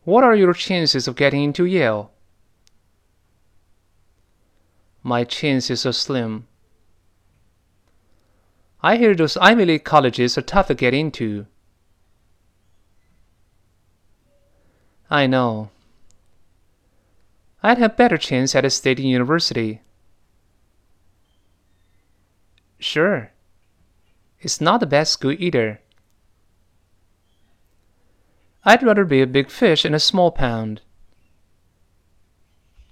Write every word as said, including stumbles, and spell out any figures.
What are your chances of getting into Yale? My chances are slim. I hear those Ivy League colleges are tough to get into. I know. I'd have better chance at a state university. Sure. It's not the best school either. I'd rather be a big fish in a small pond.